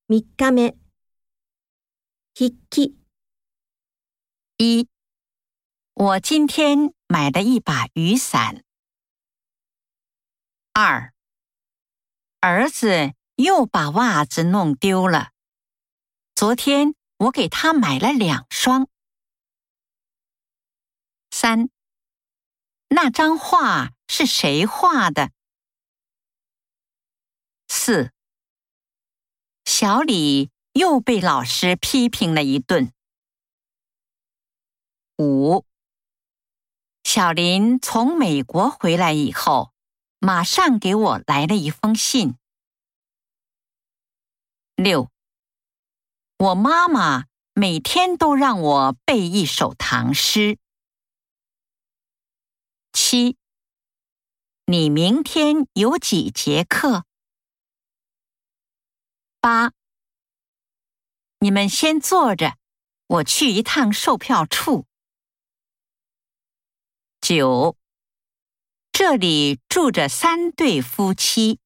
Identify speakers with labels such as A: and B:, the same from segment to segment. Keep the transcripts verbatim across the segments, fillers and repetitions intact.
A: みっかめ。筆記。
B: 一，我今天买了一把雨伞。二，儿子又把袜子弄丢了，昨天我给他买了两双。三，那张画是谁画的？四，小李又被老师批评了一顿。五，小林从美国回来以后，马上给我来了一封信。六，我妈妈每天都让我背一首唐诗。七，你明天有几节课？八，你们先坐着，我去一趟售票处。九，这里住着三对夫妻。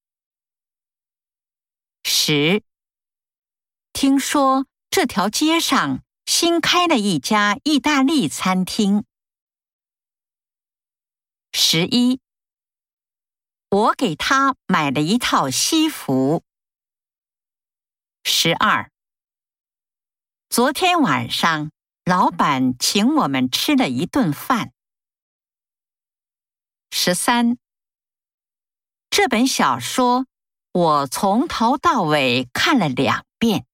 B: 十，听说这条街上新开了一家意大利餐厅。十一，我给他买了一套西服。十二，昨天晚上老板请我们吃了一顿饭。十三，这本小说我从头到尾看了两遍。